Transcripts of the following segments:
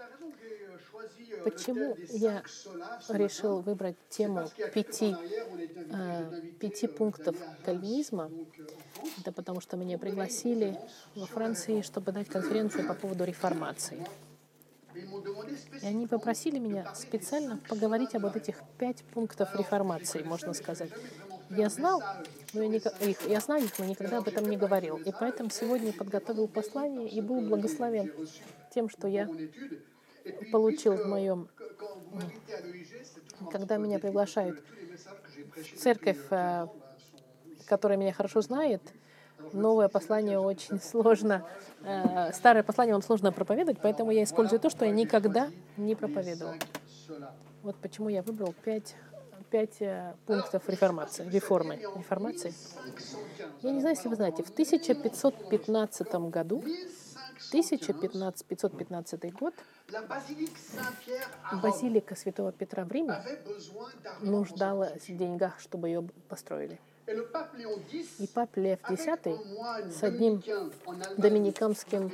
Почему я решил выбрать тему 5 пунктов кальвинизма? Это потому, что меня пригласили во Франции, чтобы дать конференцию по поводу реформации. И они попросили меня специально поговорить об этих 5 пунктов реформации, можно сказать. Я знал, но я знаю их, но никогда об этом не говорил. И поэтому сегодня подготовил послание и был благословен тем, что я получил в моем... Когда меня приглашают в церковь, которая меня хорошо знает, новое послание очень сложно, старое послание вам сложно проповедовать, поэтому я использую то, что я никогда не проповедовал. Вот почему я выбрал 5 пунктов реформации. Я не знаю, если вы знаете, в 1515 году, 1515 год, базилика Святого Петра в Риме нуждалась в деньгах, чтобы ее построили. И папа Лев X с одним доминиканским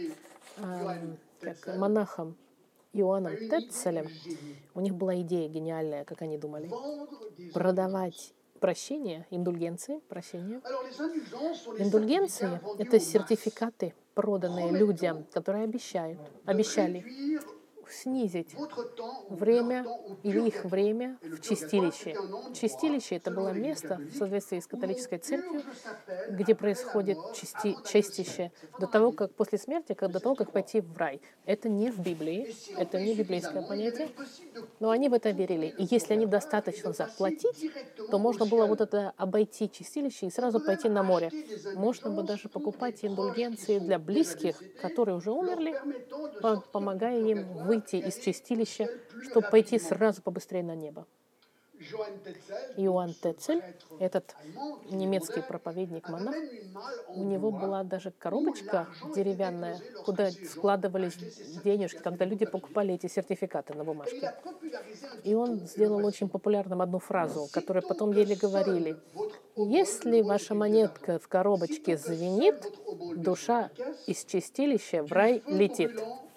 монахом Иоанном Теццелем, у них была идея гениальная, как они думали, продавать прощение, индульгенции, прощение. Индульгенции – это сертификаты, проданные людям, которые обещали снизить время или их время в чистилище. Чистилище – это было место в соответствии с католической церковью, где происходит чистище до того, как после смерти, до того, как пойти в рай. Это не в Библии, это не библейское понятие, но они в это верили. И если они достаточно заплатить, то можно было вот это обойти чистилище и сразу пойти на море. Можно было даже покупать индульгенции для близких, которые уже умерли, помогая им выйти из чистилища, чтобы пойти сразу побыстрее на небо. Иоанн Теццель, этот немецкий проповедник-монах, у него была даже коробочка деревянная, куда складывались денежки, когда люди покупали эти сертификаты на бумажке. И он сделал очень популярным одну фразу, которую потом еле говорили. «Если ваша монетка в коробочке звенит, душа из чистилища в рай летит».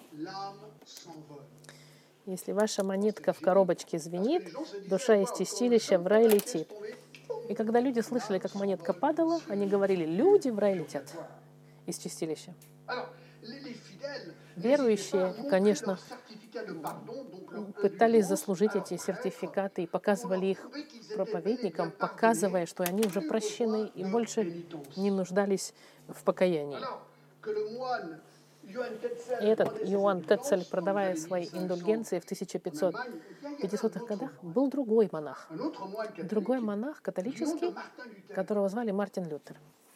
Если ваша монетка в коробочке звенит, душа из чистилища в рай летит. И когда люди слышали, как монетка падала, они говорили, люди в рай летят из чистилища. Верующие, конечно, пытались заслужить эти сертификаты и показывали их проповедникам, показывая, что они уже прощены и больше не нуждались в покаянии. И этот Иоанн Теццель, продавая свои индульгенции в 1550-х годах, был другой монах, католический, которого звали Мартин Лютер.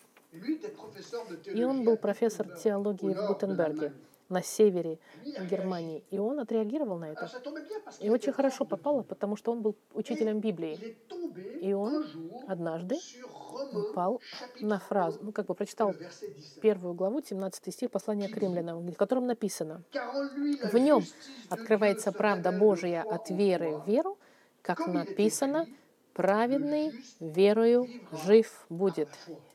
И он был профессор теологии в Гутенберге, на севере Германии. И он отреагировал на это. И очень хорошо попало, потому что он был учителем Библии. И он однажды упал на фразу, прочитал 1 главу, 17 стих послания к римлянам, в котором написано: «В нем открывается правда Божия от веры в веру, как написано, праведный верою жив будет».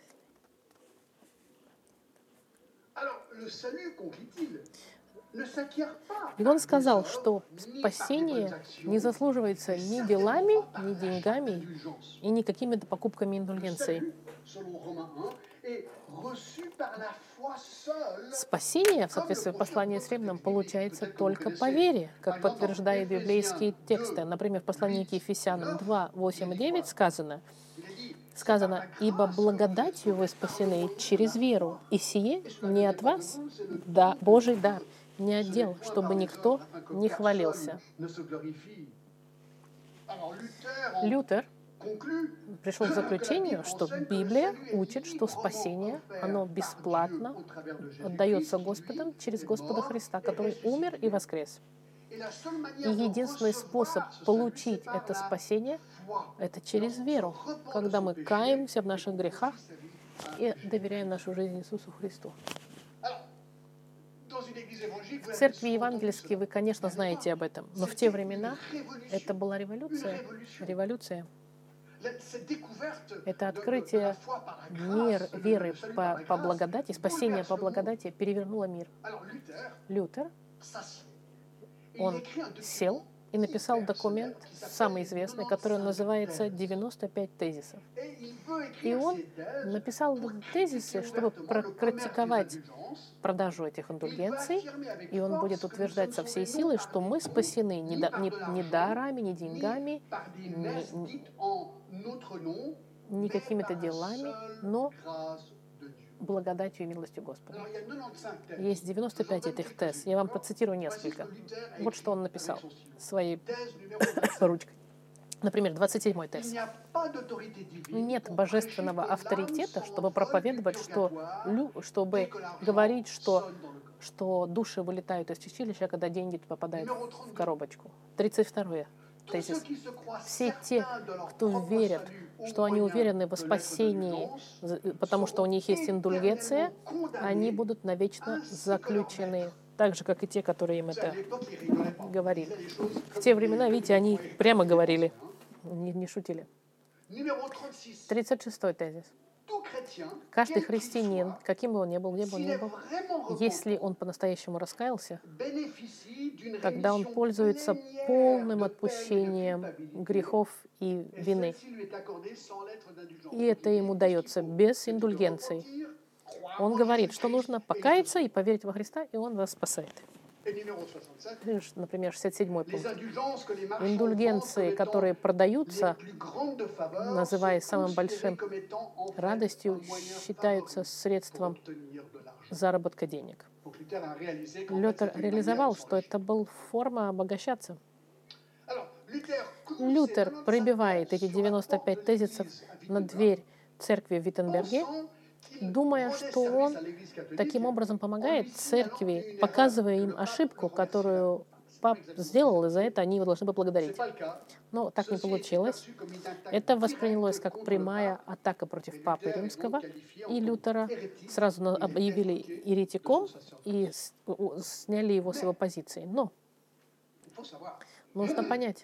И он сказал, что спасение не заслуживается ни делами, ни деньгами, и ни какими-то покупками индульгенций. Спасение, в соответствии с посланием с Римлянам, получается только по вере, как подтверждают библейские тексты. Например, в послании к Ефесянам 2, 8 и 9 сказано, «Ибо благодатью вы спасены через веру, и сие не от вас, да, Божий дар, не от дел, чтобы никто не хвалился». Лютер пришел к заключению, что Библия учит, что спасение, оно бесплатно отдается Господом через Господа Христа, который умер и воскрес. И единственный способ получить это спасение – это через веру, когда мы каемся в наших грехах и доверяем нашу жизнь Иисусу Христу. В церкви евангельской вы, конечно, знаете об этом, но в те времена это была революция. Это открытие веры по благодати, спасение по благодати перевернуло мир. Лютер Он сел и написал документ, самый известный, который называется «95 тезисов». И он написал тезисы, чтобы практиковать продажу этих индульгенций, и он будет утверждать со всей силой, что мы спасены не дарами, не деньгами, не какими-то делами, но благодатью и милостью Господа. Есть 95 этих тез. Я вам процитирую несколько. Вот что он написал своей ручкой. Например, 27-й тез. Нет божественного авторитета, чтобы проповедовать, чтобы говорить, что души вылетают из чистилища, когда деньги попадают в коробочку. 32-й тезис. Все те, кто верят, что они уверены во спасении, потому что у них есть индульгенция, они будут навечно заключены. Так же, как и те, которые им это говорили. В те времена, видите, они прямо говорили, не шутили. 36-й тезис. Каждый христианин, каким бы он ни был, если он по-настоящему раскаялся, тогда он пользуется полным отпущением грехов и вины. И это ему дается без индульгенций. Он говорит, что нужно покаяться и поверить во Христа, и Он вас спасает. Например, 67-й пункт. Индульгенции, которые продаются, называя самым большим радостью, считаются средством заработка денег. Лютер реализовал, что это была форма обогащаться. Лютер пробивает эти 95 тезисов на дверь церкви в Виттенберге, думая, что он таким образом помогает церкви, показывая им ошибку, которую пап сделал, и за это они его должны поблагодарить. Но так не получилось. Это воспринялось как прямая атака против папы римского, и Лютера сразу объявили еретиком и сняли его с его позиции. Но нужно понять,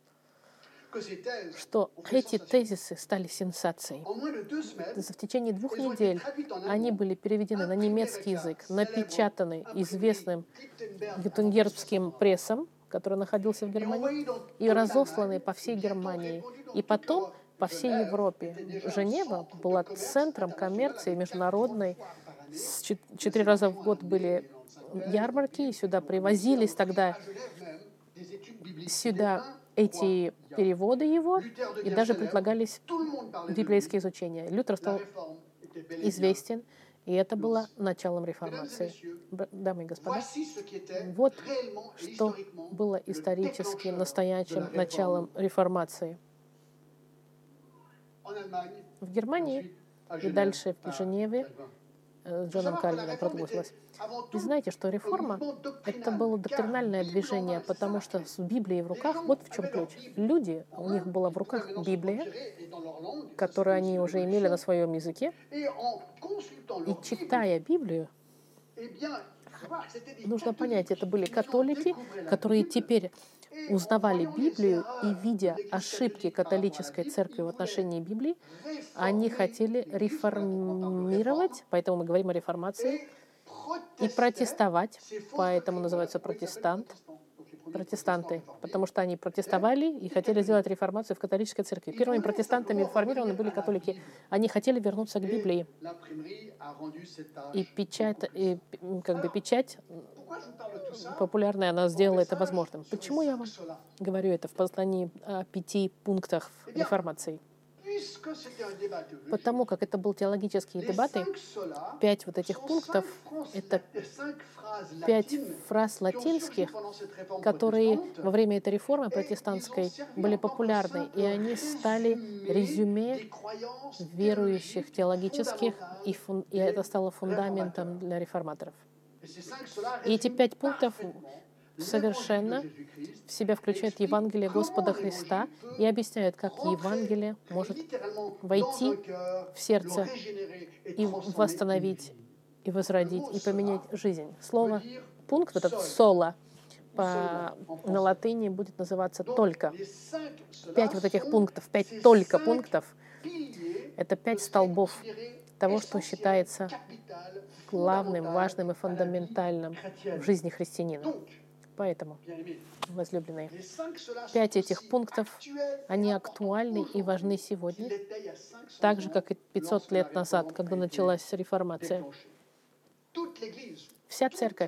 что эти тезисы стали сенсацией. В течение 2 недель они были переведены на немецкий язык, напечатаны известным геттингенским прессом, который находился в Германии, и разосланы по всей Германии. И потом по всей Европе. Женева была центром коммерции международной. 4 раза в год были ярмарки, и сюда привозились тогда эти переводы его, и даже предлагались библейские изучения. Лютер стал известен, и это было началом реформации. Дамы и господа, вот что было исторически настоящим началом реформации. В Германии и дальше в Женеве с Джоном Кальвином продолжилось. И знаете, что реформа — это было доктринальное движение, потому что с Библией в руках, вот в чем ключ. Люди, у них была в руках Библия, которую они уже имели на своем языке, и читая Библию, нужно понять, это были католики, которые теперь узнавали Библию и, видя ошибки католической церкви в отношении Библии, они хотели реформировать, поэтому мы говорим о реформации, и протестовать, поэтому называются протестанты, потому что они протестовали и хотели сделать реформацию в католической церкви. Первыми протестантами реформированы были католики. Они хотели вернуться к Библии. И печать популярная, она сделала это возможным. Почему я вам говорю это в послании о 5 пунктах реформации? Потому как это был теологические дебаты, 5 вот этих пунктов — это 5 фраз латинских, которые во время этой реформы протестантской были популярны, и они стали резюме верующих теологических, и это стало фундаментом для реформаторов. И эти 5 пунктов совершенно в себя включают Евангелие Господа Христа и объясняют, как Евангелие может войти в сердце и восстановить, и возродить, и поменять жизнь. Слово «пункт», вот этот «соло», на латыни будет называться «только». 5 вот этих пунктов, 5 «только» пунктов — это 5 столбов того, что считается главным, важным и фундаментальным в жизни христианина. Поэтому, возлюбленные, 5 этих пунктов, они актуальны и важны сегодня, так же, как и 500 лет назад, когда началась реформация. Вся церковь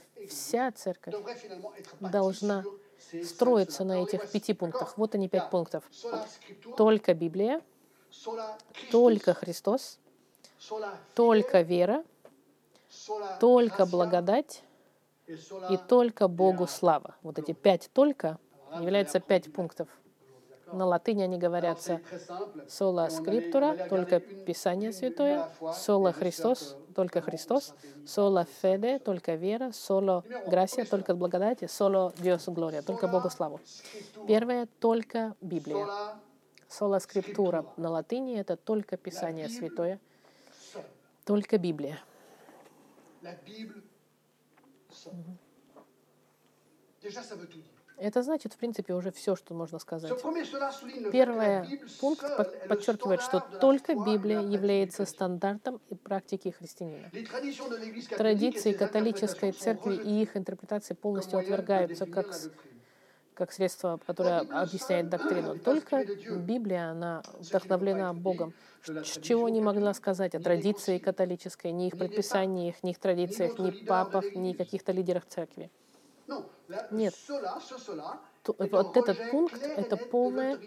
должна строиться на этих 5 пунктах. Вот они, 5 пунктов. Только Библия, только Христос, только вера, только благодать и только Богу слава. Вот эти 5 «только» являются 5 пунктов. На латыни они говорятся «sola scriptura», только Писание Святое, «sola Christos», только Христос, «sola fede», только вера, «solo gracia», только благодать, «solo Dios gloria», только Богу славу. Первое — только Библия. «Sola scriptura» на латыни — это только Писание Святое, только Библия. Это значит, в принципе, уже все, что можно сказать. Первый пункт подчеркивает, что только Библия является стандартом и практикой христианина. Традиции католической церкви и их интерпретации полностью отвергаются как средство, которое объясняет доктрину. Только Библия, она вдохновлена Богом. Чего не могла сказать о традиции католической, ни их предписаниях, ни их традициях, ни папах, ни каких-то лидерах церкви. Нет. Вот этот пункт — это полное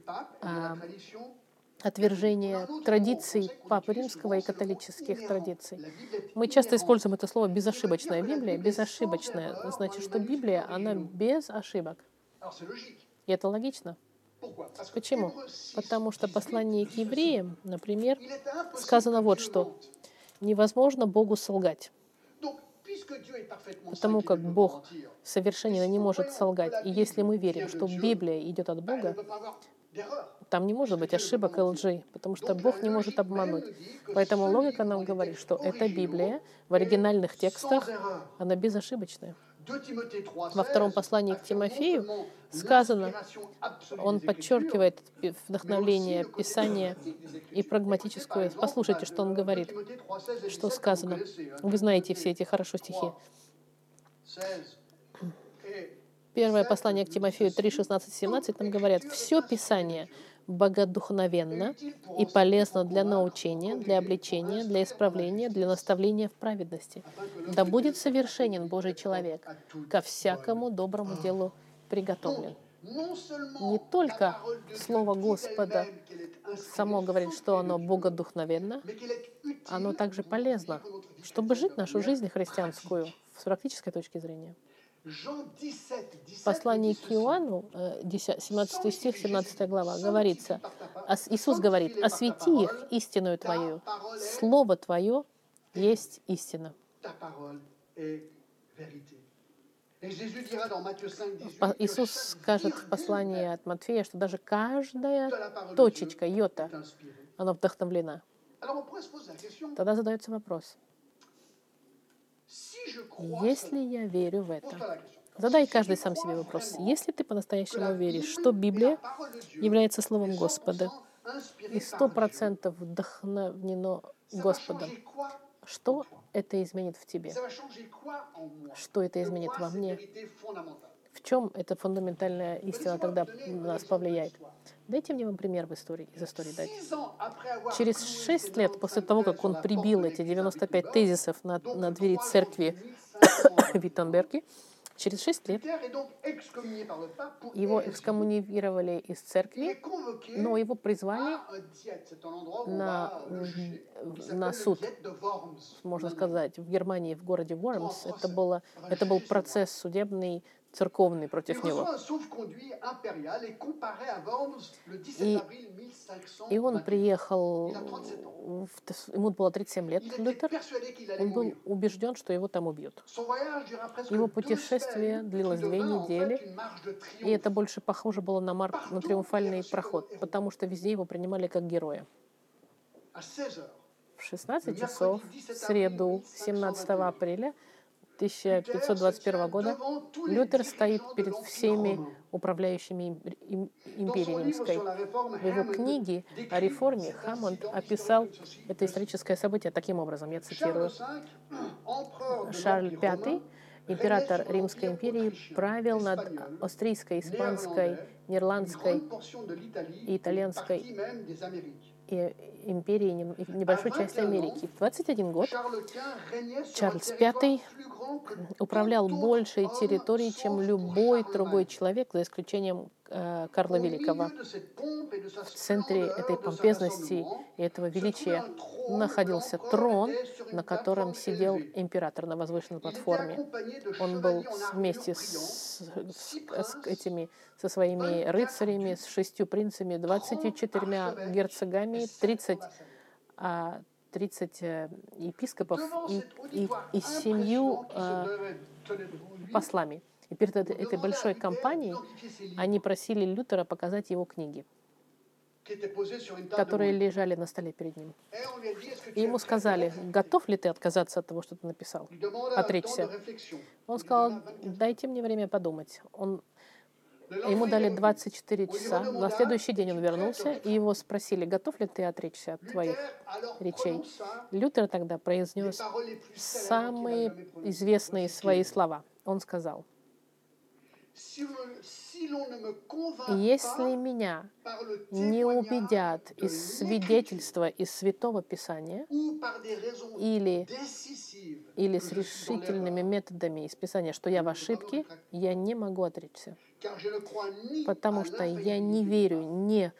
отвержение традиций Папы Римского и католических традиций. Мы часто используем это слово «безошибочная Библия». Безошибочная значит, что Библия, она без ошибок. И это логично. Почему? Потому что в послании к евреям, например, сказано вот что: невозможно Богу солгать. Потому как Бог совершенно не может солгать. И если мы верим, что Библия идет от Бога, там не может быть ошибок и лжи, потому что Бог не может обмануть. Поэтому логика нам говорит, что эта Библия в оригинальных текстах, она безошибочная. Во втором послании к Тимофею сказано, он подчеркивает вдохновление Писания и прагматическую. Послушайте, что он говорит, что сказано. Вы знаете все эти хорошо стихи. Первое послание к Тимофею 3, 16, 17 нам говорят: «Все Писание богодухновенно и полезно для научения, для обличения, для исправления, для наставления в праведности. Да будет совершенен Божий человек, ко всякому доброму делу приготовлен». Не только Слово Господа само говорит, что оно богодухновенно, оно также полезно, чтобы жить нашу жизнь христианскую с практической точки зрения. В послании к Иоанну, 17 стих, 17 глава, говорится, Иисус говорит: «Освети их истиною Твоею, Слово Твое есть истина». Иисус скажет в послании от Матфея, что даже каждая точечка, йота, она вдохновлена. Тогда задается вопрос: если я верю в это, задай каждый сам себе вопрос. Если ты по-настоящему веришь, что Библия является Словом Господа и 100% вдохновлено Господом, что это изменит в тебе? Что это изменит во мне? В чем эта фундаментальная истина тогда нас повлияет? Дайте мне вам пример из истории дать. Через 6 лет после того, как он прибил эти 95 тезисов на двери церкви в Виттенберге, через 6 лет его экскоммунировали из церкви, но его призвали на суд, можно сказать, в Германии, в городе Вормс. Это был процесс судебный, церковный против него. И он приехал, ему было 37 лет, Лютер. Он был убежден, что его там убьют. Его путешествие длилось 2 недели, и это больше похоже было на триумфальный проход, потому что везде его принимали как героя. В 16 часов, в среду, 17 апреля 1521 года, Лютер стоит перед всеми управляющими империей римской. В его книге о реформе Хаммонд описал это историческое событие таким образом, я цитирую: «Шарль V, император Римской империи правил над австрийской, испанской, нидерландской и итальянской и империей и небольшой части Америки. В 21 год Чарльз V управлял большей территорией, чем любой другой человек, за исключением Карла Великого. В центре этой помпезности и этого величия находился трон, на котором сидел император на возвышенной платформе. Он был вместе со своими рыцарями, с 6 принцами, 24 герцогами, 30 епископов и 7 послами. И перед этой большой кампанией они просили Лютера показать его книги, которые лежали на столе перед ним. И ему сказали: готов ли ты отказаться от того, что ты написал? Отречься. Он сказал: дайте мне время подумать. Ему дали 24 часа. На следующий день он вернулся, и его спросили: готов ли ты отречься от твоих речей? Лютер тогда произнес самые известные свои слова. Он сказал: если меня не убедят из свидетельства из Святого Писания или с решительными методами из Писания, что я в ошибке, я не могу отречься. Потому что я не верю не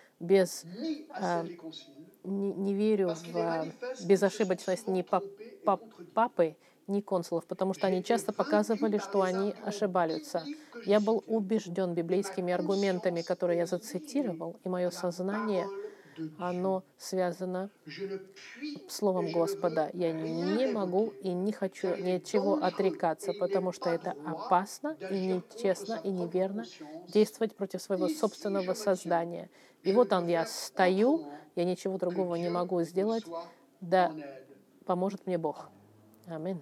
верю в безошибочность ни папы, ни консулов, потому что они часто показывали, что они ошибаются. Я был убежден библейскими аргументами, которые я зацитировал, и мое сознание, оно связано с Словом Господа. Я не могу и не хочу ни от чего отрекаться, потому что это опасно и нечестно и неверно действовать против своего собственного создания. И вот я стою, я ничего другого не могу сделать, да поможет мне Бог. Аминь.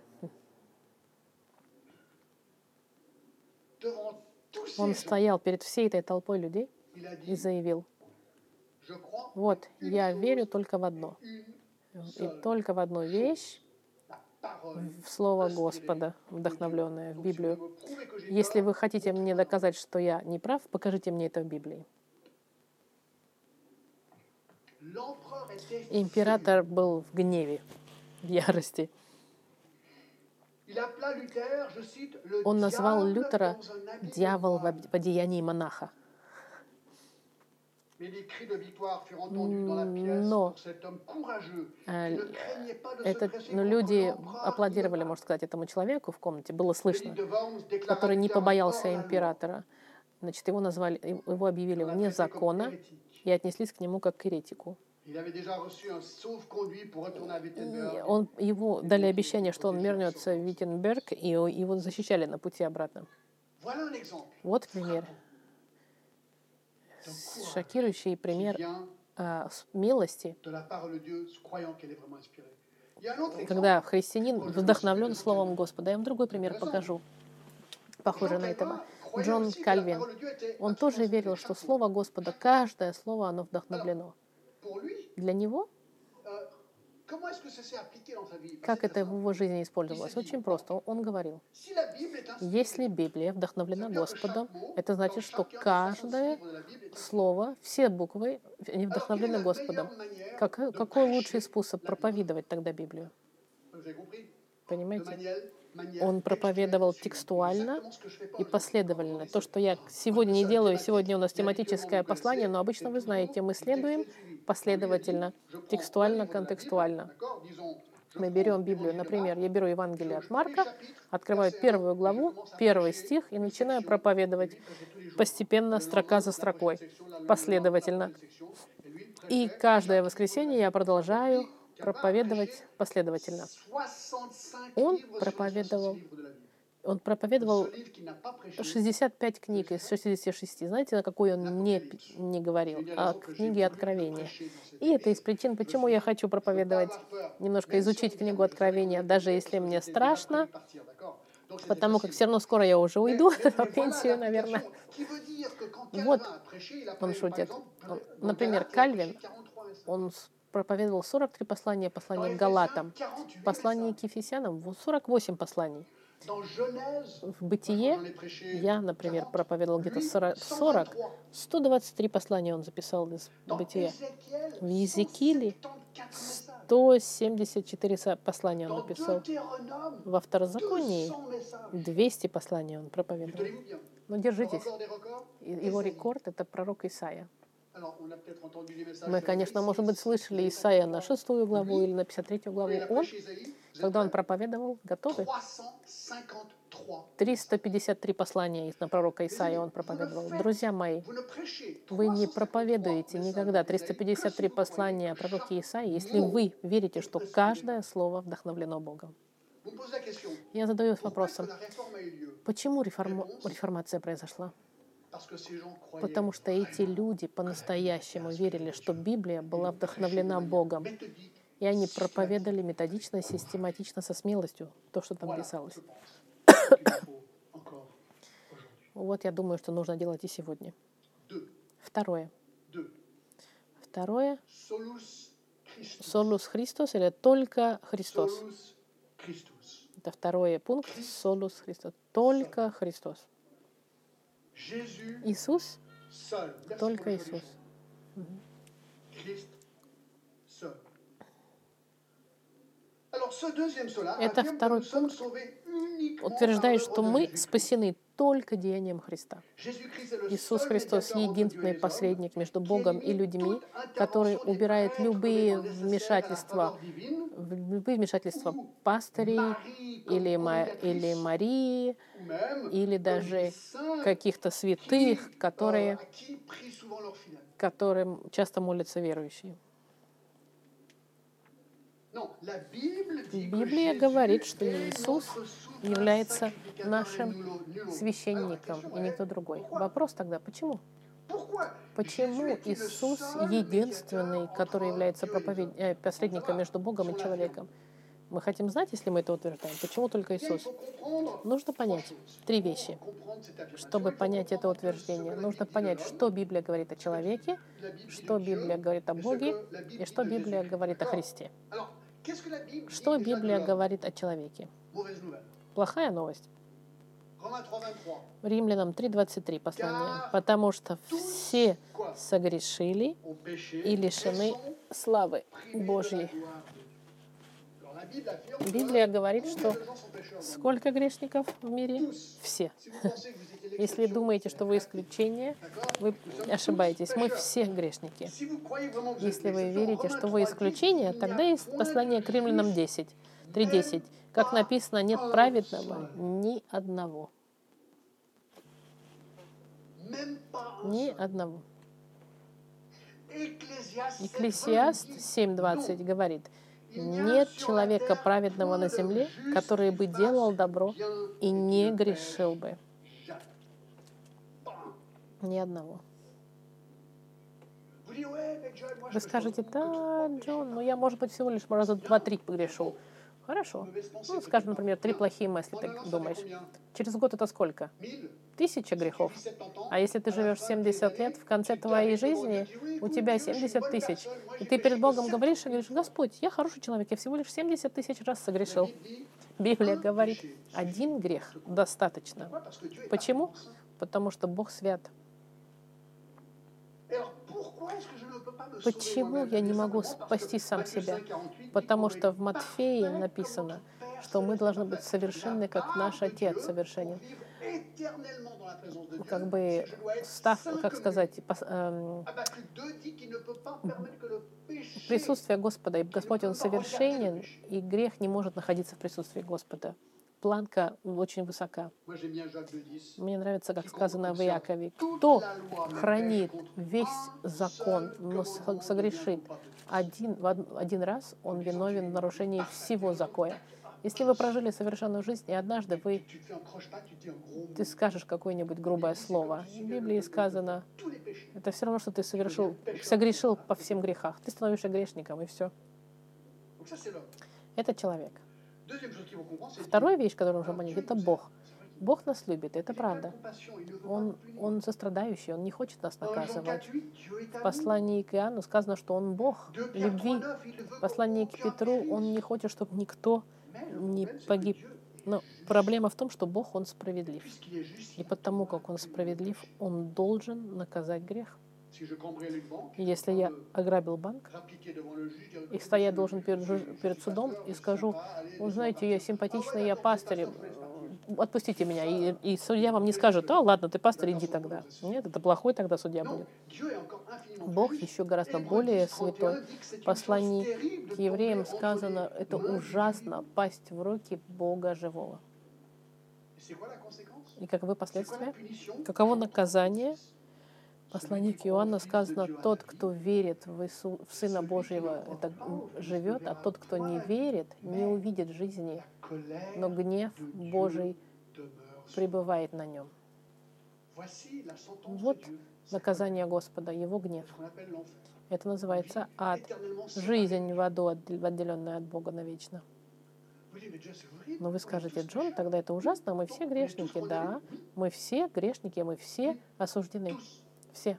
Он стоял перед всей этой толпой людей и заявил: вот, я верю только в одно. И только в одну вещь, в Слово Господа, вдохновленное в Библию. Если вы хотите мне доказать, что я не прав, покажите мне это в Библии. Император был в гневе, в ярости. Он назвал Лютера «дьявол в одеянии монаха». Но люди аплодировали, можно сказать, этому человеку в комнате, было слышно, который не побоялся императора. Значит, его объявили вне закона и отнеслись к нему как к еретику. Ему дали обещание, что он вернется в Виттенберг, и его защищали на пути обратно. Вот пример. Шокирующий пример милости, когда христианин вдохновлен Словом Господа. Я вам другой пример покажу, похожий на этого. Джон Кальвин. Он тоже верил, что Слово Господа, каждое слово, оно вдохновлено. Для него, как это в его жизни использовалось? Очень просто. Он говорил: если Библия вдохновлена Господом, это значит, что каждое слово, все буквы, они вдохновлены Господом. Какой лучший способ проповедовать тогда Библию? Понимаете? Он проповедовал текстуально и последовательно. То, что я сегодня не делаю, сегодня у нас тематическое послание, но обычно, вы знаете, мы следуем последовательно, текстуально, контекстуально. Мы берем Библию, например, я беру Евангелие от Марка, открываю 1 главу, 1 стих и начинаю проповедовать постепенно, строка за строкой, последовательно. И каждое воскресенье я продолжаю проповедовать последовательно. Он проповедовал 65 книг из 66. Знаете, на какой он не говорил? О книге Откровения. И это из причин, почему я хочу проповедовать, немножко изучить книгу Откровения, даже если мне страшно, потому как все равно скоро я уже уйду на пенсию, наверное. Вот, он шутит. Например, Кальвин, он проповедовал 43 послания к Галатам, послание к Ефесянам, 48 посланий. В Бытие я, например, проповедовал где-то 40, 123 послания он записал из Бытия. В Иезекииле 174 послания он написал. Во Второзаконии 200 посланий он проповедовал. Но держитесь. Его рекорд — это пророк Исаия. Мы, конечно, может быть, слышали Исаия на 6 главу или на 53 главу. Он, когда он проповедовал, готовы? 353 послания на пророка Исаия он проповедовал. Друзья мои, вы не проповедуете никогда 353 послания о пророке Исаии, если вы верите, что каждое слово вдохновлено Богом. Я задаюсь вопросом, почему реформация произошла? Потому что эти люди по-настоящему верили, что Библия была вдохновлена Богом. И они проповедовали методично, систематично, со смелостью то, что там писалось. Вот я думаю, что нужно делать и сегодня. Второе. Солус Христос или только Христос. Это второй пункт. Солус Христос. Только Христос. Иисус, только Иисус. Это второй пункт утверждает, что мы спасены только деянием Христа. Иисус Христос — единственный посредник между Богом и людьми, который убирает любые вмешательства пастырей или Марии, или даже каких-то святых, которым часто молятся верующие. Библия говорит, что Иисус является нашим священником и никто другой. Вопрос тогда, почему? Почему Иисус единственный, который является посредником между Богом и человеком? Мы хотим знать, если мы это утверждаем. Почему только Иисус? Нужно понять 3 вещи. Чтобы понять это утверждение, нужно понять, что Библия говорит о человеке, что Библия говорит о Боге и что Библия говорит о Христе. Что Библия говорит о человеке? Плохая новость. Римлянам 3:23 послание. Потому что все согрешили и лишены славы Божьей. Библия говорит, что сколько грешников в мире? Все. Если думаете, что вы исключение, вы ошибаетесь. Мы все грешники. Если вы верите, что вы исключение, тогда есть послание к Римлянам 3:10. Как написано, нет праведного ни одного. Ни одного. Экклесиаст 7:20 говорит, нет человека праведного на земле, который бы делал добро и не грешил бы. Ни одного. Вы скажете, да, Джон, я, может быть, всего лишь раза 2-3 погрешу. Хорошо. Скажем, например, 3 плохие мысли, ты думаешь. Через год это сколько? 1000 грехов. А если ты живешь 70 лет, в конце твоей жизни у тебя 70 000. И ты перед Богом говоришь и говоришь, Господь, я хороший человек, я всего лишь 70 000 раз согрешил. Библия говорит, 1 грех достаточно. Почему? Потому что Бог свят. Почему я не могу спасти сам себя? Потому что в Матфея написано, что мы должны быть совершенны, как наш Отец совершенен. Присутствие Господа, и Господь, Он совершенен, и грех не может находиться в присутствии Господа. Планка очень высока. Мне нравится, как сказано в Иакове, кто хранит весь закон, но согрешит один раз, он виновен в нарушении всего закона. Если вы прожили совершенную жизнь, и однажды ты скажешь какое-нибудь грубое слово, в Библии сказано, это все равно, что ты согрешил по всем грехах. Ты становишься грешником, и все. Это человек. Вторая вещь, которую нужно понять, это Бог. Бог нас любит, это правда. Он сострадающий, Он не хочет нас наказывать. В послании к Иоанну сказано, что Он Бог любви. В послании к Петру Он не хочет, чтобы никто не погиб. Но проблема в том, что Бог, Он справедлив. И потому, как Он справедлив, Он должен наказать грех. Если я ограбил банк, и стоять должен перед судом, и скажу: вот знаете, я симпатичный, я пастырь, отпустите меня. И судья вам не скажет: ладно, ты пастырь, иди тогда. Нет, это плохой тогда судья будет. Бог еще гораздо более святой. В послании к евреям сказано: это ужасно пасть в руки Бога живого. И каковы последствия? Каково наказание? В послании к Иоанну сказано: тот, кто верит в Сына Божьего, это живет, а тот, кто не верит, не увидит жизни, но гнев Божий пребывает на нем. Вот наказание Господа, Его гнев. Это называется ад. Жизнь в аду, отделенная от Бога навечно. Но вы скажете: Джон, тогда это ужасно, мы все грешники. Да, мы все грешники, мы все осуждены. Все.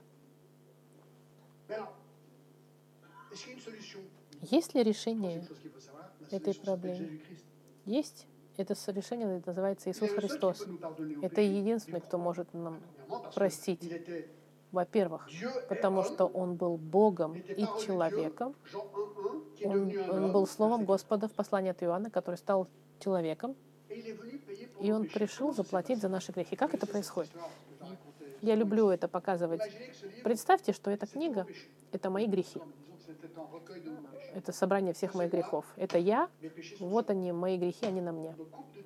Есть ли решение этой проблемы? Есть. Это решение называется Иисус Христос. Это единственный, кто может нам простить. Во-первых, потому что Он был Богом и человеком. Он был Словом Господа в послании от Иоанна, который стал человеком. И Он пришел заплатить за наши грехи. Как это происходит? Я люблю это показывать. Представьте, что эта книга — это мои грехи. Это собрание всех моих грехов. Это я, вот они, мои грехи, они на мне.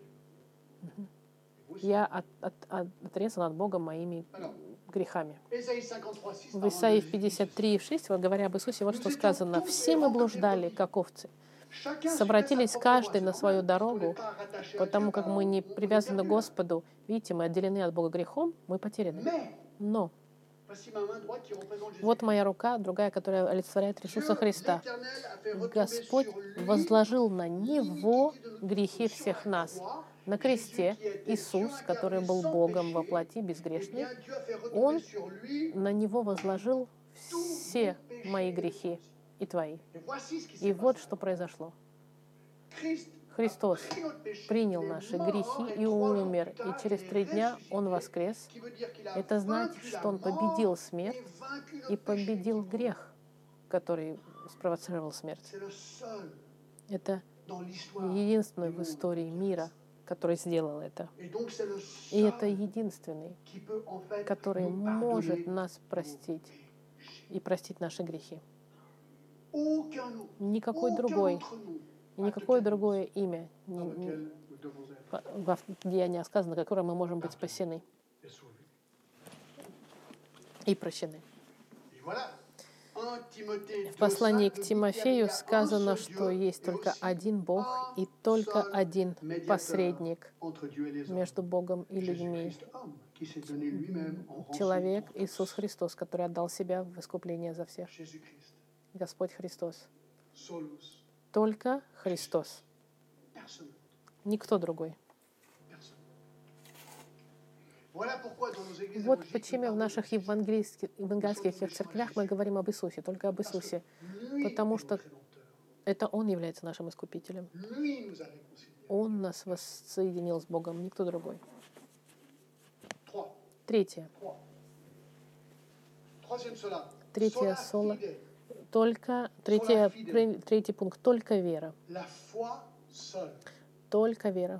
Я отрезан от Бога моими грехами. В Исаии 53:6, говоря об Иисусе, вот что сказано: «Все мы блуждали, как овцы, совратились каждый на свою дорогу, потому как мы не привязаны к Господу». Видите, мы отделены от Бога грехом, мы потеряны. Но вот моя рука, другая, которая олицетворяет Иисуса Христа. Господь возложил на Него грехи всех нас. На кресте Иисус, который был Богом во плоти, безгрешный, Он на Него возложил все мои грехи и твои. И вот что произошло. Христос принял наши грехи и умер, и через 3 дня Он воскрес. Это значит, что Он победил смерть и победил грех, который спровоцировал смерть. Это единственный в истории мира, который сделал это. И это единственный, который может нас простить и простить наши грехи. Никакой другой, никакое другое имя, в Деяниях сказано, которым мы можем быть спасены и прощены. В послании к Тимофею сказано, что есть только один Бог и только один посредник между Богом и людьми. Человек Иисус Христос, который отдал себя в искупление за всех. Господь Христос. Только Христос. Никто другой. Вот почему в наших евангельских церквях мы говорим об Иисусе, только об Иисусе. Потому что это Он является нашим Искупителем. Он нас воссоединил с Богом, никто другой. Третье соло. Третий пункт. Только вера. Только вера.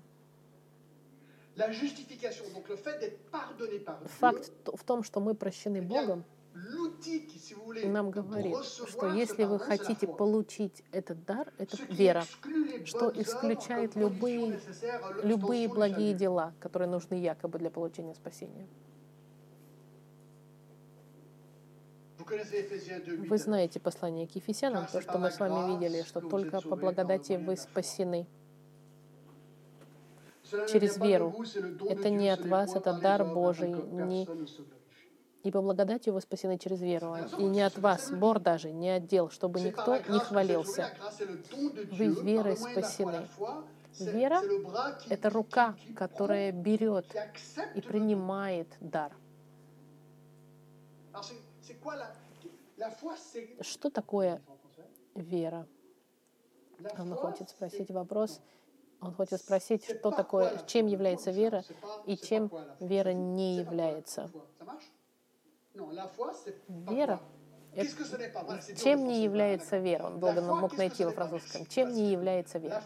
Факт в том, что мы прощены Богом, нам говорит, что если вы хотите получить этот дар, это вера, что исключает любые благие дела, которые нужны якобы для получения спасения. Вы знаете послание к Ефесянам, то, что мы с вами видели, что только по благодати вы спасены. Через веру. Это не от вас, это дар Божий. И по благодати вы спасены через веру. И не от вас, Бог даже, не от дел, чтобы никто не хвалился. Вы верой спасены. Вера — это рука, которая берет и принимает дар. Что такое вера? Она хочет спросить вопрос. Он хочет спросить, что такое, чем является вера и чем вера не является. Вера чем не является вера? Он долго мог найти во французском. Чем не является вера?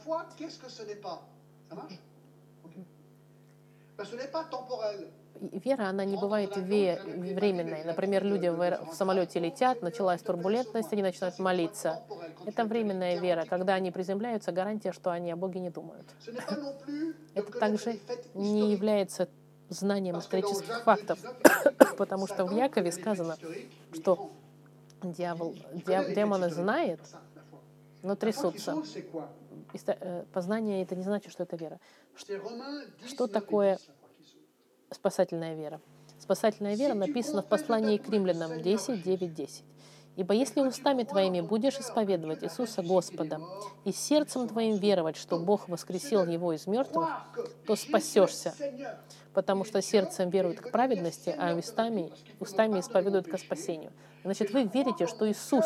Вера, она не бывает временной. Например, люди в самолете летят, началась турбулентность, они начинают молиться. Это временная вера. Когда они приземляются, гарантия, что они о Боге не думают. Это также не является знанием исторических фактов, потому что в Якове сказано, что демоны знают, но трясутся. Познание — это не значит, что это вера. Что такое спасательная вера? Спасательная вера написана в послании к Римлянам 10:9-10. «Ибо если устами твоими будешь исповедовать Иисуса Господа и сердцем твоим веровать, что Бог воскресил Его из мертвых, то спасешься, потому что сердцем веруют к праведности, а устами исповедуют ко спасению». Значит, вы верите, что Иисус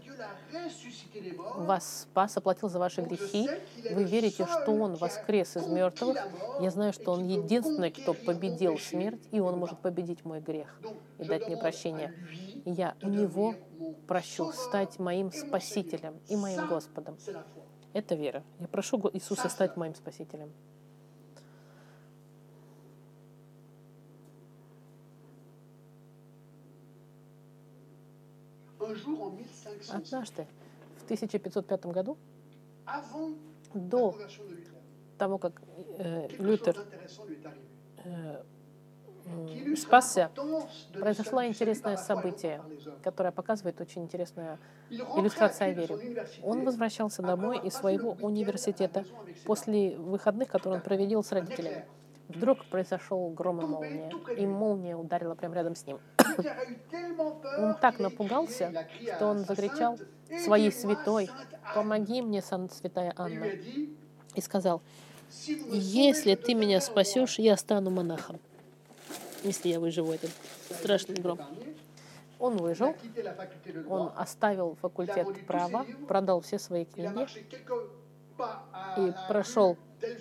вас спас, оплатил за ваши грехи. Вы верите, что Он воскрес из мертвых. Я знаю, что Он единственный, кто победил смерть, и Он может победить мой грех и дать мне прощение. И я у Него прощу стать моим Спасителем и моим Господом. Это вера. Я прошу Иисуса стать моим Спасителем. Однажды, в 1505 году, до того, как Лютер спасся, произошло интересное событие, которое показывает очень интересную иллюстрацию о вере. Он возвращался домой из своего университета после выходных, которые он провел с родителями. Вдруг произошел гром и молния ударила прямо рядом с ним. Он так напугался, что он закричал своей святой: «Помоги мне, святая Анна!» И сказал: «Если ты меня спасешь, я стану монахом, если я выживу этот страшный гром». Он выжил, он оставил факультет права, продал все свои книги и прошел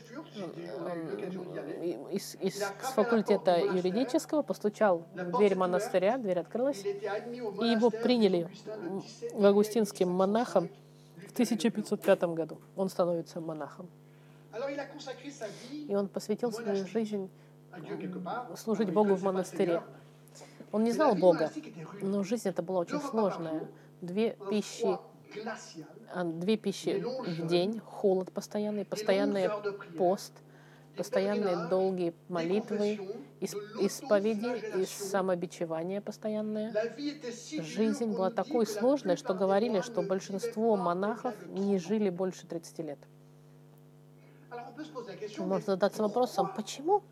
из факультета юридического, постучал в дверь монастыря, дверь открылась, и его приняли в августинским монахом в 1505 году. Он становится монахом. И он посвятил свою жизнь служить Богу в монастыре. Он не знал Бога, но жизнь эта была очень сложная. Две пищи в день, холод постоянный пост, постоянные долгие молитвы, исповеди и самобичевание постоянное. Жизнь была такой сложной, что говорили, что большинство монахов не жили больше 30 лет. Можно задаться вопросом, почему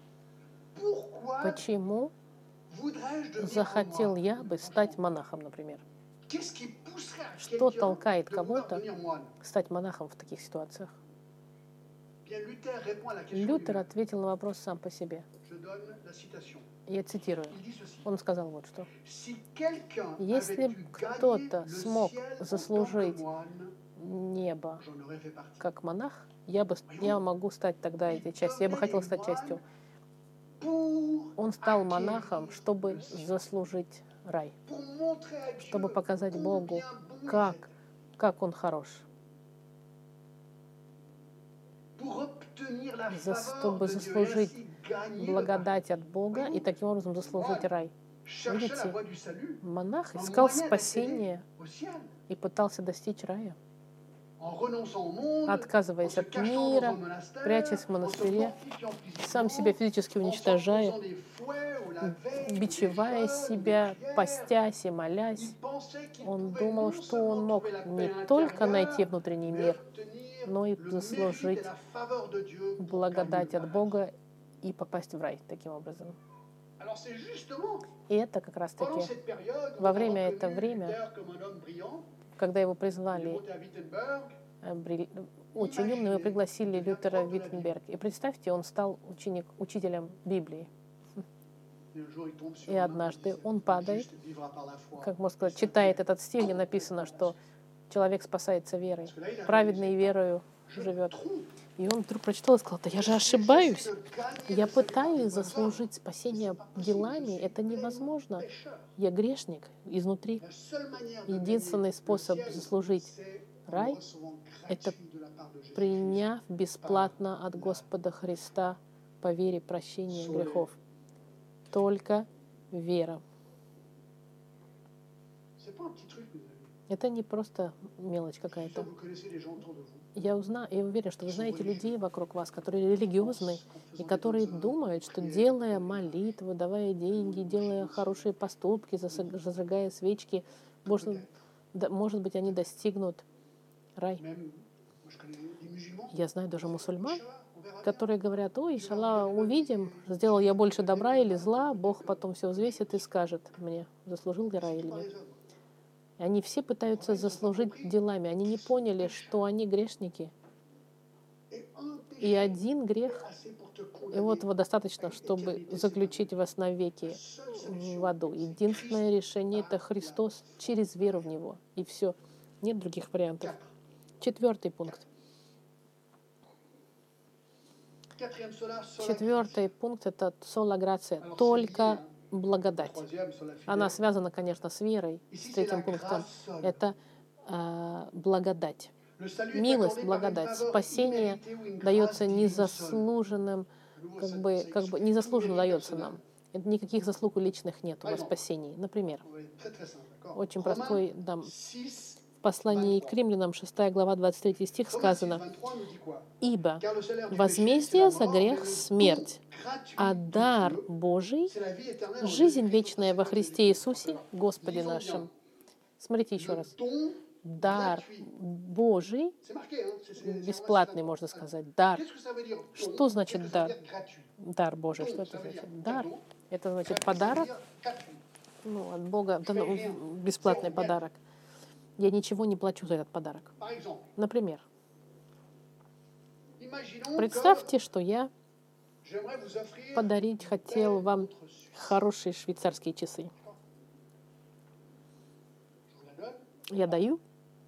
захотел я бы стать монахом, например? Что толкает кого-то стать монахом в таких ситуациях? Лютер ответил на вопрос сам по себе. Я цитирую. Он сказал вот что. «Если кто-то смог заслужить небо как монах, я могу стать тогда этой частью. Я бы хотел стать частью». Он стал монахом, чтобы заслужить рай, чтобы показать Богу, как Он хорош, чтобы заслужить благодать от Бога и таким образом заслужить рай. Видите, монах искал спасения и пытался достичь рая, отказываясь от мира, прячась в монастыре, сам себя физически уничтожая, бичевая себя, постясь и молясь. Он думал, что он мог не только найти внутренний мир, но и заслужить благодать от Бога и попасть в рай таким образом. И это как раз-таки во время когда его призвали очень умным, и пригласили Лютера в Виттенберг. И представьте, он стал учителем Библии. И однажды он падает, как можно сказать, читает этот стих, где написано, что человек спасается верой, праведный верою живет. И он вдруг прочитал и сказал: да я же ошибаюсь. Я пытаюсь заслужить спасение делами. Это невозможно. Я грешник изнутри. Единственный способ заслужить рай — это приняв бесплатно от Господа Христа по вере прощение грехов. Только вера. Это не просто мелочь какая-то. Я уверен, что вы знаете людей вокруг вас, которые религиозны и которые думают, что делая молитвы, давая деньги, делая хорошие поступки, зажигая свечки, может быть, они достигнут рай. Я знаю даже мусульман, которые говорят: ой, иншаллах, увидим, сделал я больше добра или зла, Бог потом все взвесит и скажет мне, заслужил я рай или нет. И они все пытаются заслужить делами. Они не поняли, что они грешники. И один грех, и вот его достаточно, чтобы заключить вас навеки в аду. Единственное решение — это Христос через веру в Него. И все. Нет других вариантов. 4 пункт. 4 пункт — это сола грация, только благодать. Она связана, конечно, с верой, с 3 пунктом. Это благодать. Милость, благодать. Спасение дается незаслуженным, незаслуженно дается нам. Никаких заслуг личных нет во спасении. Например, очень простой, в послании к Римлянам, 6 глава, 23 стих сказано: «Ибо возмездие за грех — смерть, а дар Божий — жизнь вечная во Христе Иисусе, Господе нашим». Смотрите еще раз. Дар Божий, бесплатный, можно сказать, дар. Что значит дар? Дар Божий, что это значит? Дар — это значит подарок, от Бога, бесплатный подарок. Я ничего не плачу за этот подарок. Например, представьте, что я подарить хотел вам хорошие швейцарские часы. Я даю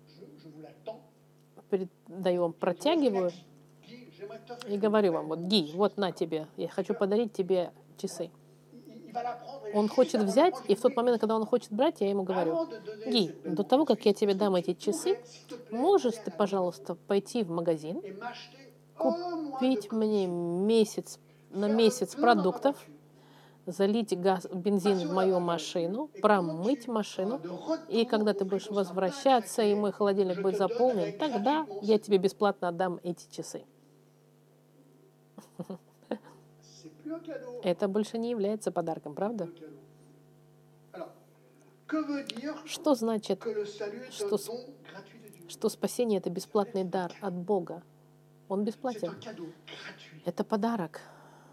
вам, протягиваю и говорю вам: вот, Ги, вот на тебе, я хочу подарить тебе часы. Он хочет взять, и в тот момент, когда он хочет брать, я ему говорю: Ги, до того, как я тебе дам эти часы, можешь ты, пожалуйста, пойти в магазин, купить мне на месяц продуктов, залить бензин в мою машину, промыть машину, и когда ты будешь возвращаться, и мой холодильник будет заполнен, тогда я тебе бесплатно отдам эти часы. Это больше не является подарком, правда? Что значит, что спасение — это бесплатный дар от Бога? Он бесплатен. Это подарок,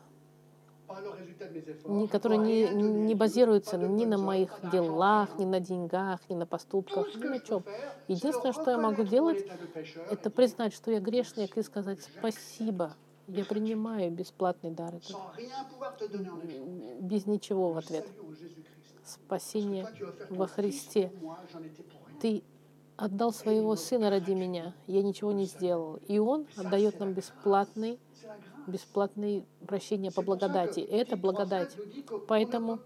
который не базируется ни на моих делах, ни на деньгах, ни на поступках, ни на чем. Единственное, что я могу делать, это признать, что я грешник, и сказать: спасибо, я принимаю бесплатный дар этот. Без ничего в ответ. Спасение во Христе. Ты отдал своего Сына ради меня, я ничего не сделал. И Он отдает нам бесплатное прощение по благодати. Это благодать. Поэтому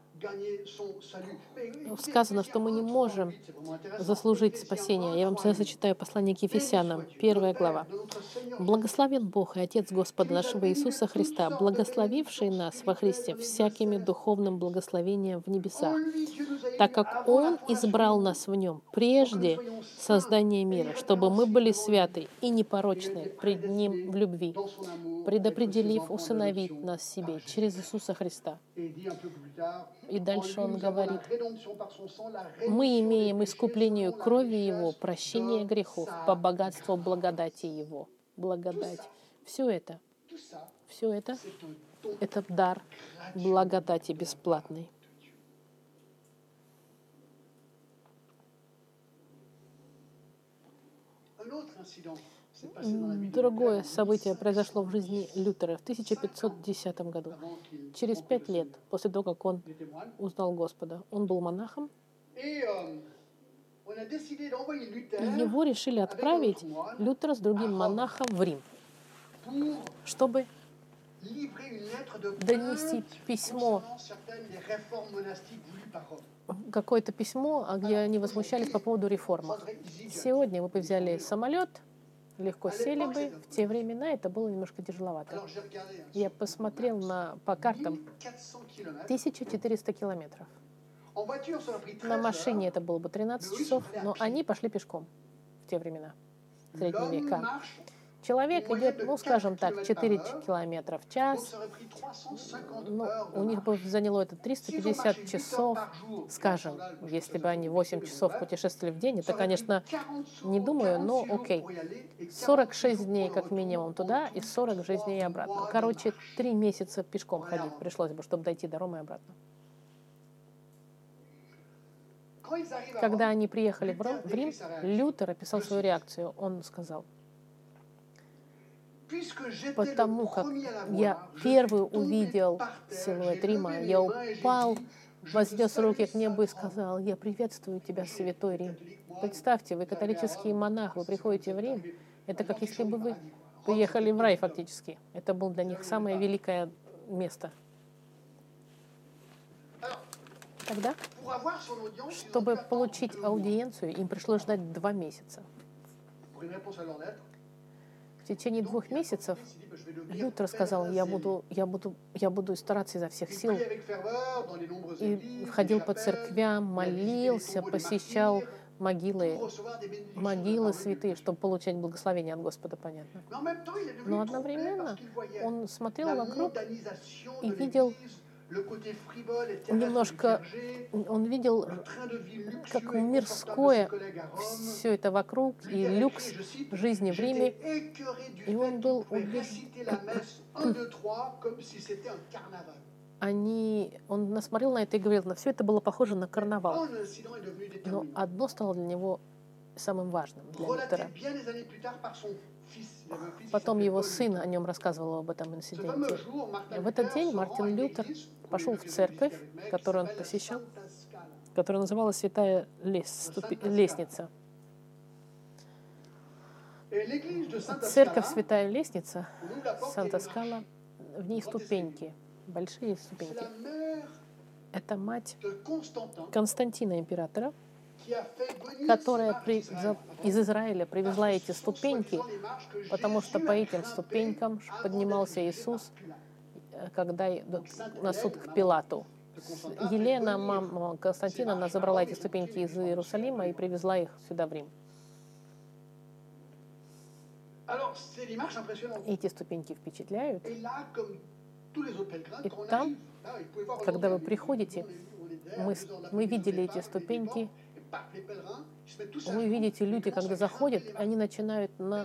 сказано, что мы не можем заслужить спасение. Я вам сейчас зачитаю послание к Ефесянам, 1 глава. «Благословен Бог и Отец Господа нашего Иисуса Христа, благословивший нас во Христе всякими духовным благословением в небесах, так как Он избрал нас в Нем прежде создания мира, чтобы мы были святы и непорочны пред Ним в любви, предопределив усыновить нас себе через Иисуса Христа». И дальше он говорит: «Мы имеем искупление крови Его, прощение грехов по богатству благодати Его». Благодать. Все это — это дар благодати бесплатный. Другое событие произошло в жизни Лютера в 1510 году. Через 5 лет после того, как он узнал Господа, он был монахом. Его решили отправить, Лютера, с другим монахом в Рим. чтобы донести письмо, какое-то письмо, где они возмущались по поводу реформ. Сегодня вы бы взяли самолет, легко сели бы. В те времена это было немножко тяжеловато. Я посмотрел по картам 1400 километров. На машине это было бы 13 часов, но они пошли пешком в те времена, в средние века. Человек идет, ну, скажем так, 4 километра в час. Ну, у них бы заняло это 350 часов, скажем, если бы они 8 часов путешествовали в день. Это, конечно, не думаю, но окей. 46 дней как минимум туда и 46 дней обратно. Короче, 3 месяца пешком ходить пришлось бы, чтобы дойти до Ромы и обратно. Когда они приехали в Рим, Лютер описал свою реакцию. Он сказал: потому как я первый увидел силуэт Рима, я упал, вознес руки к небу и сказал: я приветствую тебя, святой Рим. Представьте, вы католический монах, вы приходите в Рим, это как если бы вы приехали в рай фактически. Это было для них самое великое место. Тогда, чтобы получить аудиенцию, им пришлось ждать 2 месяца. В течение 2 месяцев Лютер сказал: я буду стараться изо всех сил. И ходил по церквям, молился, посещал могилы святые, чтобы получать благословение от Господа, понятно. Но одновременно он смотрел вокруг и видел немножко, он видел, как мирское все это вокруг, и люкс жизни в Риме, и он был убежден. Он насмотрел на это и говорил, все это было похоже на карнавал. Но одно стало для него самым важным, для Лютера. Потом его сын о нем рассказывал, об этом инциденте. В этот день Мартин Лютер пошел в церковь, которую он посещал, которая называлась Святая Лестница. Церковь Святая Лестница, Санта-Скала, в ней ступеньки, большие ступеньки. Это мать Константина императора, которая из Израиля привезла эти ступеньки, потому что по этим ступенькам поднимался Иисус, когда на суд к Пилату. Елена, мама Константина, она забрала эти ступеньки из Иерусалима и привезла их сюда, в Рим. Эти ступеньки впечатляют. И там, когда вы приходите, мы видели эти ступеньки. Вы видите, люди, когда заходят, они начинают на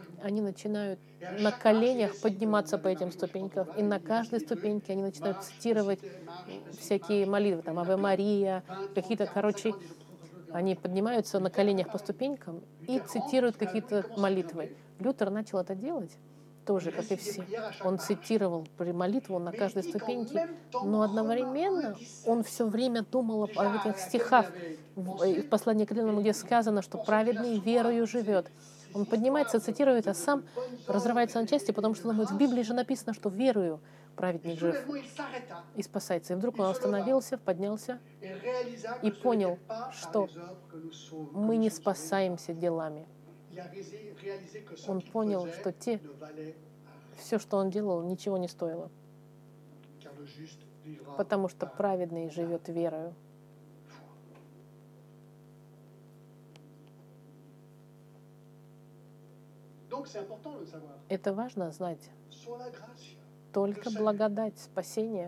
коленях подниматься по этим ступенькам. И на каждой ступеньке они начинают цитировать всякие молитвы, там, Аве Мария, какие-то, они поднимаются на коленях по ступенькам и цитируют какие-то молитвы. Лютер начал это делать тоже, как и все. Он цитировал молитву на каждой ступеньке, но одновременно он все время думал об этих стихах в послании к Римлянам, где сказано, что праведный верою живет. Он поднимается, цитирует, а сам разрывается на части, потому что думает, в Библии же написано, что верою праведник жив и спасается. И вдруг он остановился, поднялся и понял, что мы не спасаемся делами. Он понял, что все, что он делал, ничего не стоило. Потому что праведный живет верою. Это важно знать. Только благодать, спасение.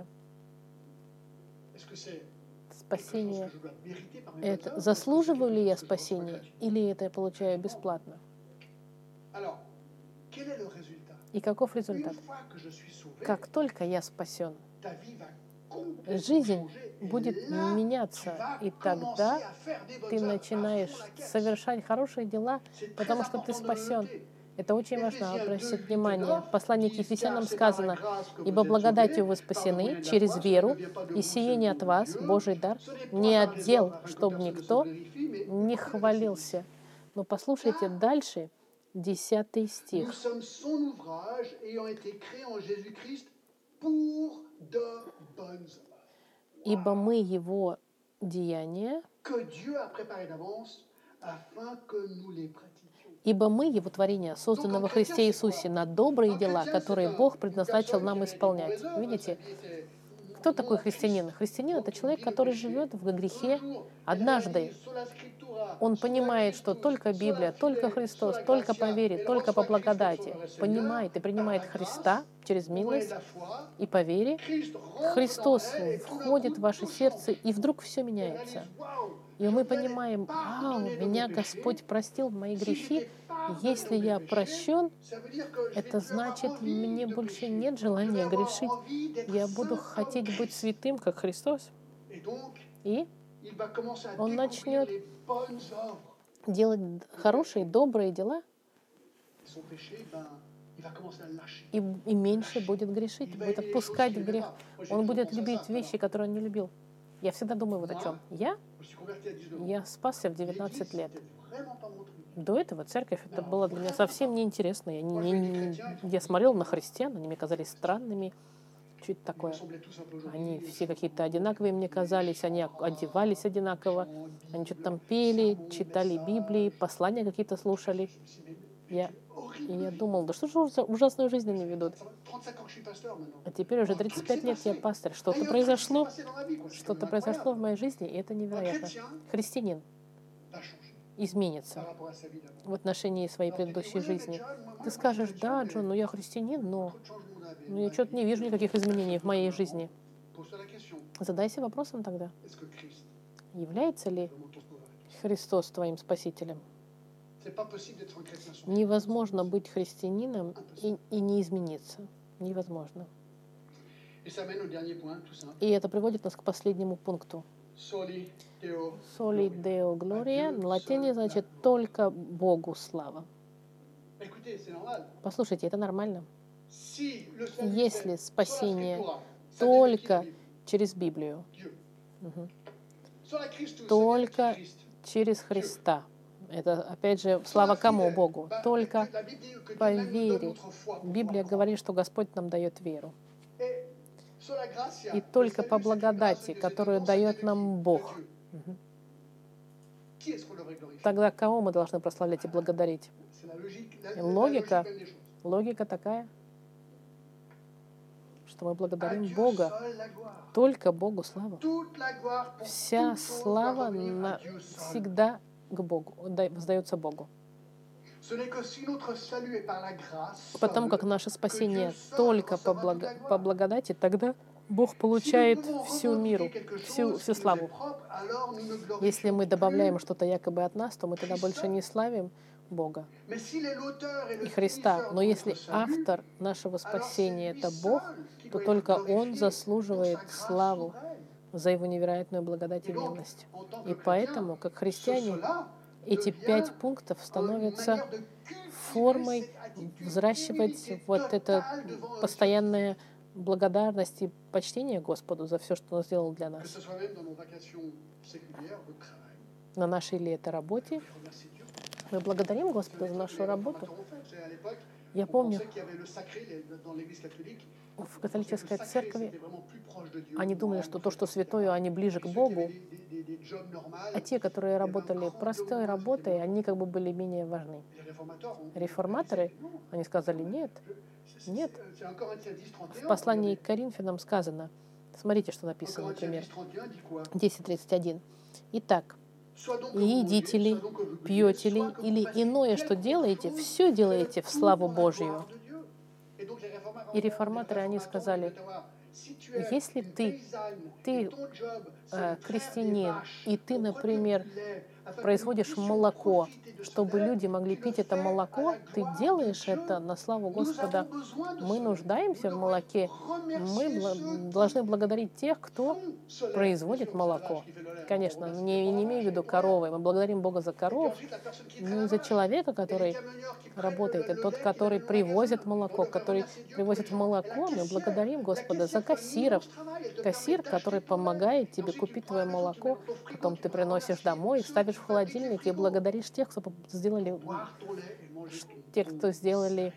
Спасение. Это заслуживаю ли я спасения, или это я получаю бесплатно? И каков результат? Как только я спасен, жизнь будет меняться, и тогда ты начинаешь совершать хорошие дела, потому что ты спасен. Это очень важно обращать внимание. В послании к Ефесянам сказано: «Ибо благодатью вы спасены через веру, и сие не от вас, Божий дар, не от дел, чтобы никто не хвалился». Но послушайте дальше. 10 стих. Nous sommes son ouvrage, ayant été créés en Jésus-Christ pour de bonnes œuvres. Ибо мы Его деяния, Que Dieu a préparé d'avance afin que nous les pratiquions. ибо мы Его творение, созданы во Христе Иисусе на добрые дела, которые Бог предназначил нам исполнять. Видите? Кто такой христианин? Христианин — это человек, который живет в грехе однажды. Он понимает, что только Библия, только Христос, только по вере, только по благодати. Понимает и принимает Христа через милость и по вере. Христос входит в ваше сердце, и вдруг все меняется. И мы понимаем: вау, меня Господь простил мои грехи. Если я прощен, это значит, мне больше нет желания грешить. Я буду хотеть быть святым, как Христос. И он начнет делать хорошие, добрые дела, и меньше будет грешить, будет отпускать грех. Он будет любить вещи, которые он не любил. Я всегда думаю вот о чем. Я спасся в 19 лет. До этого церковь, это было для меня совсем неинтересно. Я смотрел на христиан, они мне казались странными. Что это такое? Они все какие-то одинаковые мне казались, они одевались одинаково, они что-то там пели, читали Библии, послания какие-то слушали. Я думал, да что же за ужасную жизнь они ведут? А теперь уже 35 лет я пастор. Что-то произошло в моей жизни, и это невероятно. Христианин изменится в отношении своей предыдущей жизни. Ты скажешь: да, Джон, я христианин, но я что-то не вижу никаких изменений в моей жизни. Задайся вопросом тогда: является ли Христос твоим спасителем? Невозможно быть христианином и не измениться. Невозможно. И это приводит нас к последнему пункту. Soli Deo Gloria на латине значит «только Богу слава». Послушайте, это нормально. Если спасение только через Библию, только через Христа, это, опять же, слава кому? Богу. Только по вере. Библия говорит, что Господь нам дает веру. И только по благодати, которую дает нам Бог. Тогда кого мы должны прославлять и благодарить? Логика такая, что мы благодарим Бога. Только Богу слава. Вся слава всегда к Богу, воздается Богу. Потому как наше спасение только по благодати, тогда Бог получает всю миру, всю славу. Если мы добавляем что-то якобы от нас, то мы тогда больше не славим Бога и Христа. Но если автор нашего спасения — это Бог, то только Он заслуживает славу за Его невероятную благодать и милость. И поэтому, как христиане, эти 5 пунктов становятся формой взращивать вот это постоянное благодарность и почтение Господу за все, что Он сделал для нас. На нашей ли это работе? Мы благодарим Господа за нашу работу. Я помню, в католической церкви они думали, что то, что святое, они ближе к Богу, а те, которые работали простой работой, они как бы были менее важны. Реформаторы, они сказали: нет. В послании к Коринфянам сказано, смотрите, что написано, например, 10:31. Итак, едите ли, пьете ли, или иное, что делаете, все делаете в славу Божию. И реформаторы, они сказали: если ты крестьянин, и ты, например, производишь молоко, чтобы люди могли пить это молоко, ты делаешь это на славу Господа. Мы нуждаемся в молоке. Мы должны благодарить тех, кто производит молоко. Конечно, не имею в виду коровы. Мы благодарим Бога за коров, но и за человека, который работает, и тот, который привозит молоко, мы благодарим Господа за кассиров. Кассир, который помогает тебе купить твое молоко, потом ты приносишь домой и ставишь в холодильник и благодаришь тех, кто сделали, boire ton lait et manger те, кто сделали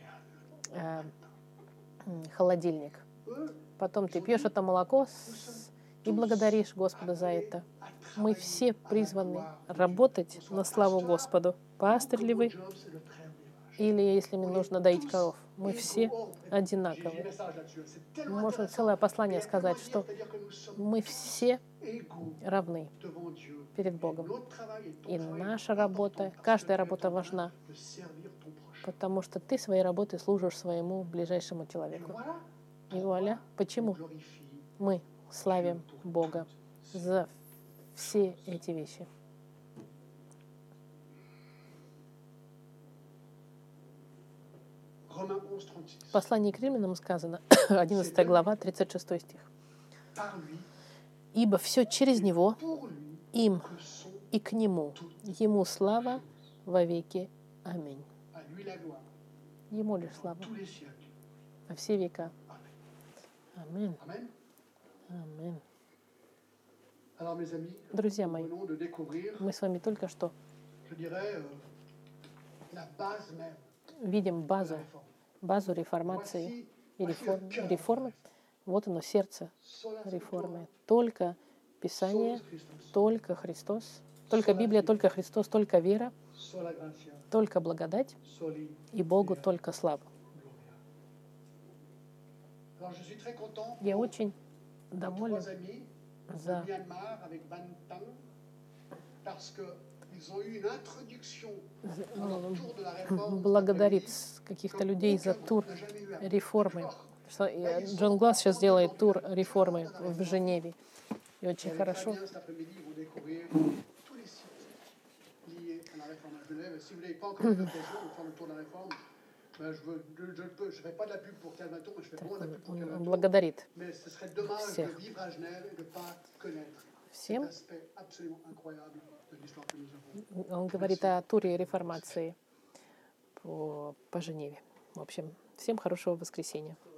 холодильник. Eux, Потом ты пьешь это молоко и благодаришь Господа за это. Мы все призваны работать на славу Господу. Пастырь ли mon вы, job, c'est de traire des vaches. или если мне нужно доить коров. Мы Égaux. все Oh, j'ai одинаковые. des messages là-dessus. C'est Мы tellement можем intéressant. целое послание Mais il y a сказать, tellement à что dire, c'est-à-dire que nous sommes мы все égaux равны devant Dieu. перед Богом. Notre travail et ton И travail наша est работа, important parce каждая que tu es работа en train важна, de servir ton prochain. потому что ты своей работой служишь своему ближайшему Et человеку. voilà И вуаля, on почему glorifie мы славим Бога за все эти вещи. Romains 11, 36. В послании к Римлянам сказано, 11 глава, 36 стих. Par lui, «Ибо все через Него, pour lui, им que sont и к Нему, Ему слава во веки. Аминь». à lui la gloire, Ему лишь слава tous les siècles. во все века. Amen. Аминь. Amen. Аминь. Alors mes amis, Друзья nous мои, venons de découvrir, мы с вами только что je dirais, la base même видим de la базу, réforme. базу реформации и реформы. Вот оно, сердце Sola реформы. Только Писание, solus Christus, только Христос, только Библия, только Христос, только вера, sola gratia, только благодать soli и Богу Deo только слава. gloria. Alors je suis très content Я pour очень nos доволен trois amis de за Myanmar avec Ban Tang parce que ils ont eu une introduction dans leur tour de la réforme. благодарит каких-то людей за тур реформы. Что Джон Гласс сейчас делает тур реформы в Женеве. И очень хорошо. Cet après-midi, ils vont découvrir tous les sites liés à la réforme à Genève. Et si vous n'avez pas encore eu l'occasion de faire le tour de la réforme, ben je fais pas de la pub pour Calvaton, mais je fais vraiment de la pub pour Он Calvaton. благодарит Mais ce serait dommage всех. de vivre à Genève et de ne pas connaître всем. cet aspect absolument incroyable de l'histoire que nous avons. Он говорит о туре реформации по Женеве. В общем, всем хорошего воскресенья.